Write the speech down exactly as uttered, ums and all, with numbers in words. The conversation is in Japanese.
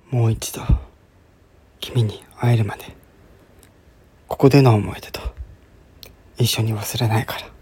もう一度君に会えるまでここでの思い出と一緒に忘れないから。